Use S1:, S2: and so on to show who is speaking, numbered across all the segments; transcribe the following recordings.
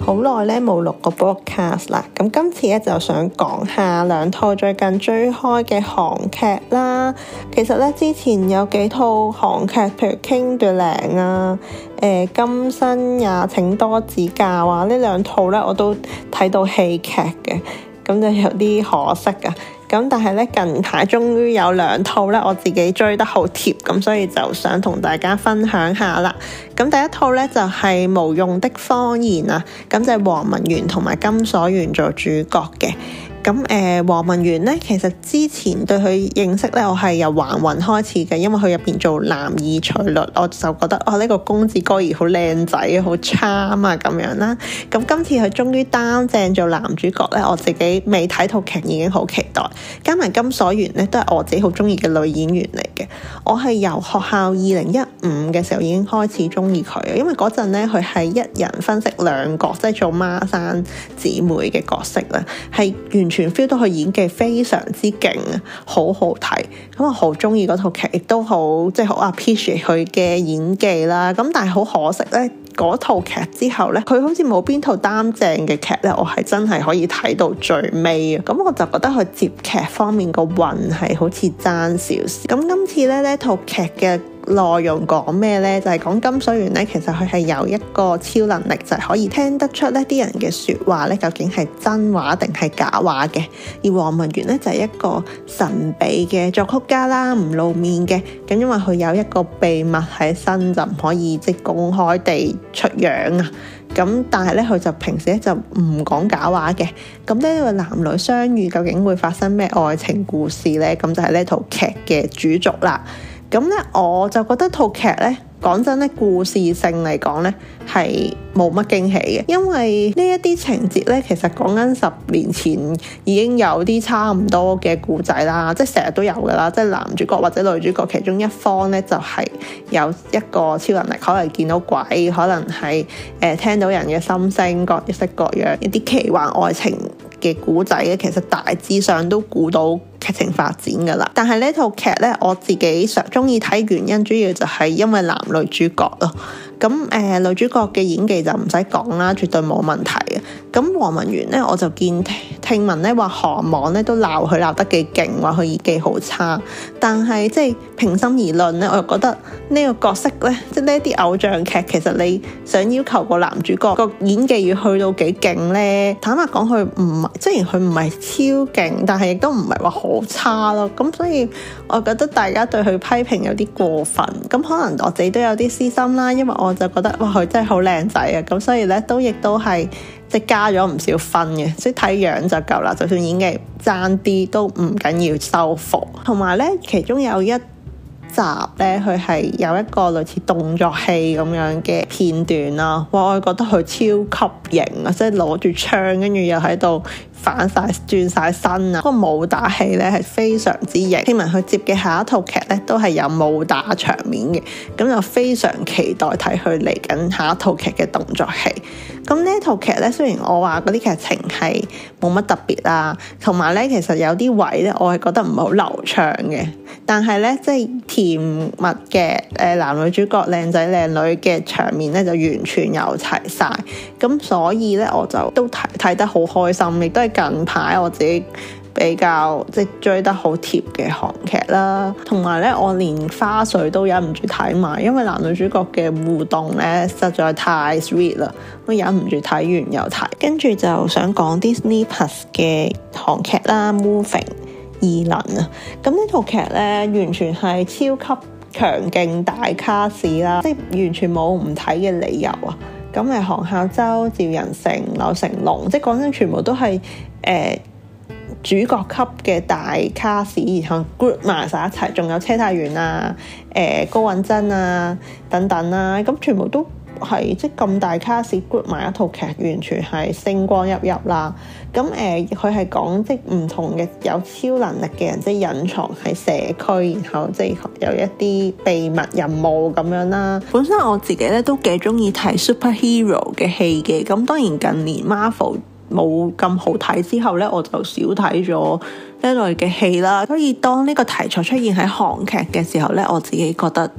S1: 好耐咧冇錄過 broadcast 啦，咁今次咧就想講下兩套最近追開嘅韓劇啦。其實咧之前有幾套韓劇，譬如《King 奪領》啊、今生也請多指教啊，呢兩套咧我都睇到戲劇嘅，咁就有啲可惜啊。咁但係咧近排終於有兩套咧我自己追得好貼，咁所以就想同大家分享下啦。咁第一套咧就係《無用的謊言》啊，咁就係黃文媛同埋金所源做主角嘅。咁黃文媛咧，其實之前對佢認識咧，我係由還魂開始嘅，因為佢入邊做男二徐律，我就覺得呢個公子哥兒好靚仔，好 charm 啊咁樣啦。咁今次佢終於擔正做男主角咧，我自己未睇套劇已經好期待。加埋金所源咧，都係我自己好中意嘅女演員嚟嘅。我係由學校2015嘅時候已經開始中意佢，因為嗰陣咧佢係一人分飾兩角，即係做孖生姊妹嘅角色啦，係完全 feel 到佢演技非常之勁啊，好好睇。咁我好中意嗰套劇，亦都好好 appreciate 佢嘅演技啦。咁但係好可惜咧，嗰套劇之後咧，佢好似冇邊套擔正嘅劇咧，我係真係可以睇到最尾啊。咁我就覺得佢接劇方面個運係好似爭少少。咁今次咧呢套劇嘅內容講咩呢？就係講金所源咧，其實佢係有一個超能力，就係可以聽得出呢啲人嘅說話咧，究竟係真話定係假話嘅。而黃文媛咧就係一個神秘嘅作曲家啦，唔露面嘅。咁因為佢有一個秘密喺身，就唔可以公開地出樣啊。咁但係咧，佢就平時咧就唔講假話嘅。咁呢個男女相遇究竟會發生咩愛情故事呢？咁就係呢套劇嘅主軸啦。咁咧，我就覺得套劇咧，講真咧，故事性嚟講咧，係冇乜驚喜嘅，因為呢一啲情節咧，其實講緊10年前已經有啲差唔多嘅故仔啦，即係成日都有噶啦，即係男主角或者女主角其中一方咧，就係有一個超能力，可能見到鬼，可能係聽到人嘅心聲，各式各樣一啲奇幻愛情嘅故仔咧，其實大致上都估到劇情發展噶啦。但係呢套劇咧，我自己中意睇原因主要就係因為男女主角咯。咁女主角嘅演技就唔使講啦，絕對冇問題嘅。咁黃文媛咧，我就聽聞咧話韓網咧都鬧佢鬧得幾勁，話佢演技好差。但係即係平心而論咧，我又覺得呢個角色咧，即係呢啲偶像劇，其實你想要求個男主角個演技要去到幾勁咧？坦白講，佢唔係，雖然佢唔係超勁，但係亦都唔係話好差咯。咁所以我覺得大家對佢批評有啲過分。咁可能我自己都有啲私心啦，因為我就覺得哇，佢真係好靚仔啊！咁所以咧亦都係即係加咗唔少分嘅，即係睇樣就夠啦。就算演技爭啲都唔緊要收服。同埋咧，其中有一集咧，佢係有一個類似動作戲咁樣嘅片段啦。哇，我覺得佢超級型啊！即係攞住槍，跟住又喺度反晒轉晒身啊！個武打戲咧係非常之型。聽聞佢接嘅下一套劇咧都係有武打場面嘅，咁就非常期待睇佢嚟緊下一套劇嘅動作戲。咁呢套劇咧，雖然我話嗰啲劇情係冇乜特別啦，同埋咧其實有啲位咧我係覺得唔係好流暢嘅，但係咧即係甜蜜嘅男女主角靚仔靚女嘅場面咧就完全有齊晒。咁所以咧我就都睇得好開心，亦都係近排我自己比較追得好貼嘅韓劇啦。同埋咧我連花絮都忍唔住睇埋，因為男女主角嘅互動咧實在太 sweet 啦，我忍唔住睇完又睇。跟住就想講 Disney Plus 嘅韓劇啦， Moving 異能啊。咁呢套劇咧完全係超級強勁大卡士啦，即係完全冇唔睇嘅理由啊。咁係韓孝周、趙仁成、柳成龍，即係講真全部都係主角級嘅大卡士，然後 group 埋晒一齊，仲有車太元啊、高允珍啊等等啦，咁全部都係即咁大卡士 group 埋一套劇，完全係星光熠熠啦。咁佢係講即唔同嘅有超能力嘅人，即係隱藏喺社區，然後即係有一啲秘密任務咁樣啦。本身我自己咧都幾中意睇 superhero 嘅戲嘅，咁當然近年 Marvel 冇咁好睇之後咧，我就少睇咗呢類嘅戲啦。所以當呢個題材出現喺韓劇嘅時候咧，我自己覺得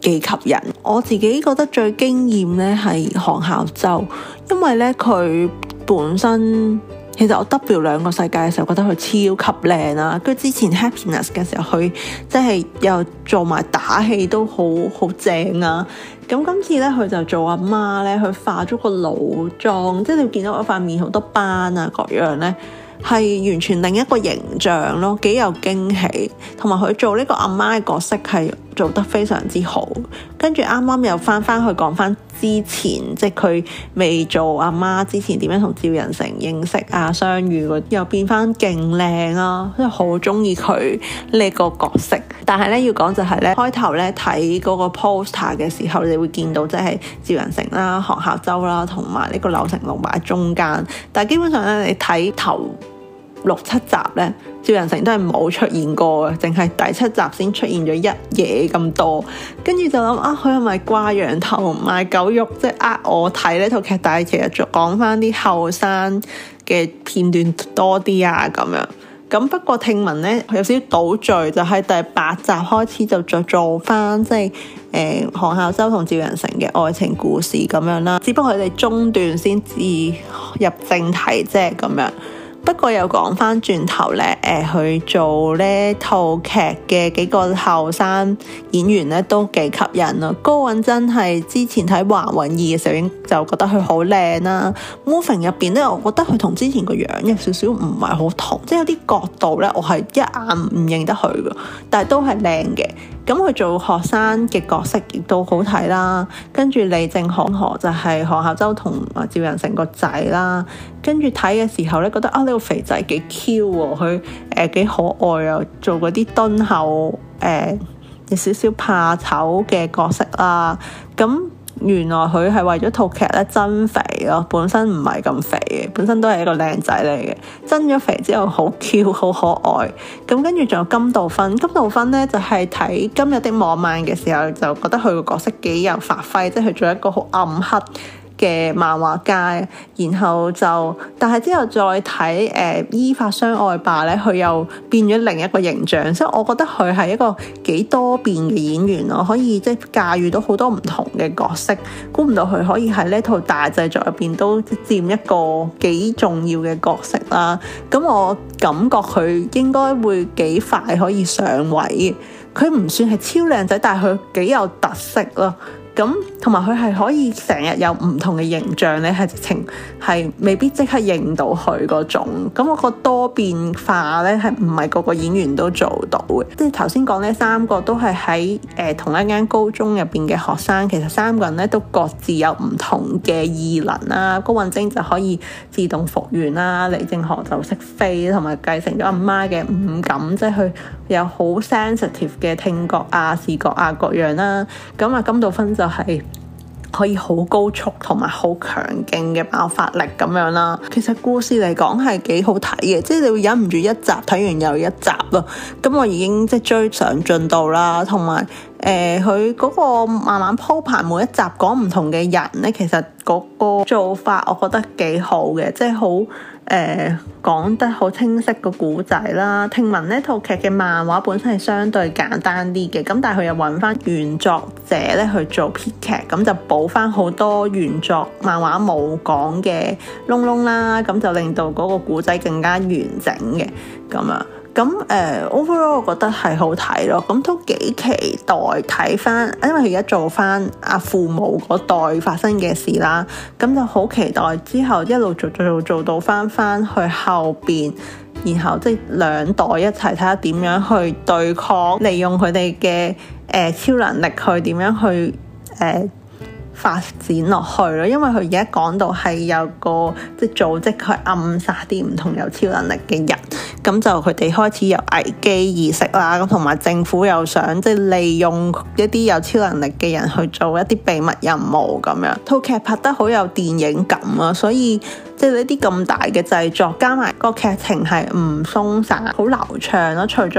S1: 幾吸引。我自己覺得最驚豔咧係韓孝周，因為咧佢本身其實我 W2個世界嘅時候覺得佢超級靚啦，跟住之前 Happiness 嘅時候佢即係又做埋打戲都好正啊。咁今次咧佢就做阿媽咧，佢化咗個老妝，即係你見到我塊面好多斑啊各樣咧，係完全另一個形象咯，幾有驚喜。同埋佢做呢個阿媽嘅角色係做得非常之好。跟住啱啱又翻去講翻之前，即係佢未做阿媽之前點樣同趙仁成認識啊相遇嗰啲，又變翻勁靚啊，真係好中意佢呢個角色。但係咧要講就係咧，開頭咧睇嗰個 poster 嘅時候，你會見到即係趙仁成啦、韓孝周啦，同埋呢個柳成龍擺喺中間。但係基本上咧，你睇頭6-7集咧，趙仁成都係冇出現過嘅，淨係第7集先出現咗一嘢咁多。跟住就諗啊，佢係咪掛羊頭賣狗肉，即係我睇呢套劇？但係其實就講翻啲後生嘅片段多啲啊咁樣。咁不過聽聞咧有少少倒敘，就喺第8集開始就再做翻即係韓孝周同趙仁成嘅愛情故事咁樣啦。只不過佢哋中段先至入正題啫咁樣。不過又講翻轉頭咧，去做呢套劇嘅幾個後生演員咧都幾吸引咯。高允真係之前睇《華韻2》嘅時候已經就覺得佢好靚啦。Moving 入邊咧，我覺得佢同之前個樣有少少唔係好同，即係有啲角度咧，我係一眼唔認得佢㗎，但係都係靚嘅。咁佢做學生嘅角色亦都好睇啦。跟住李正河就係韓孝周同趙仁成個仔啦。跟住睇嘅時候咧，覺得呢個肥仔幾 Q 喎，佢幾可愛啊，做嗰啲敦厚有少少怕醜嘅角色啦。咁原來佢係為咗套劇咧增肥咯，本身唔係咁肥嘅，本身都係一個靚仔嚟嘅。增咗肥之後好 Q 好可愛。咁跟住仲有金道勳咧就係睇《今日的網漫》嘅時候就覺得佢個角色幾有發揮，即係佢做一個好暗黑嘅漫畫家。然後但係之後再睇依法相愛吧咧，佢又變咗另一個形象，所以我覺得佢係一個幾多變嘅演員咯，可以即係駕馭到好多唔同嘅角色。估唔到佢可以喺呢套大製作入邊都佔一個幾重要嘅角色啦。咁我感覺佢應該會幾快可以上位。佢唔算係超靚仔，但係佢幾有特色咯。咁同埋佢係可以成日有唔同嘅形象咧，係直情係未必即刻認到佢嗰種。咁我個多變化咧係唔係個個演員都做到嘅。即係頭先講呢3個都係喺同一間高中入邊嘅學生，其實3個人咧都各自有唔同嘅異能啦。高允貞就可以自動復原啦，李正河就識飛，同埋繼承咗阿媽嘅五感，即係佢有好 sensitive 嘅聽覺啊、視覺啊各樣啦。咁啊金道勳就係可以好高速同埋好強勁嘅爆發力咁樣啦。其實故事嚟講係幾好睇嘅，即係你會忍唔住一集睇完又一集咯。咁我已經即係追上進度啦，同埋佢嗰個慢慢鋪排每一集講唔同嘅人咧，其實嗰個做法我覺得幾好嘅，即係好講得好清晰個故仔啦。聽聞呢套劇嘅漫畫本身係相對簡單啲嘅，咁但係佢又揾翻原作者咧去做編劇，咁就補翻好多原作漫畫冇講嘅窿窿啦，咁就令到嗰個故仔更加完整嘅咁樣。咁overall 我覺得係好睇咯，咁都幾期待睇翻，因為佢而家做翻阿父母嗰代發生嘅事啦，咁就好期待之後一路做到翻去後邊，然後即係2代一齊睇下點樣去對抗，利用佢哋嘅超能力去點樣去發展落去咯。因為佢而家講到係有個即係組織去暗殺啲唔同有超能力嘅人，咁就佢哋開始有危機意識啦，咁同埋政府又想即係利用一啲有超能力嘅人去做一啲秘密任務咁樣。套劇拍得好有電影感啊，所以即係呢啲咁大嘅製作，加埋個劇情係唔鬆散，好流暢咯。除咗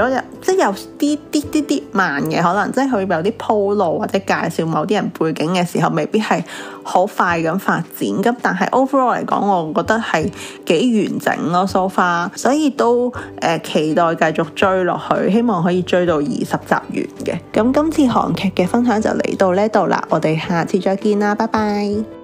S1: 即係有啲慢嘅，可能即係佢有啲鋪路或者介紹某啲人背景嘅時候，未必係好快咁發展。咁但係 overall 嚟講，我覺得係幾完整咯，so far，所以都期待繼續追落去，希望可以追到20集完嘅。咁今次韓劇嘅分享就嚟到呢度啦，我哋下次再見啦，拜拜。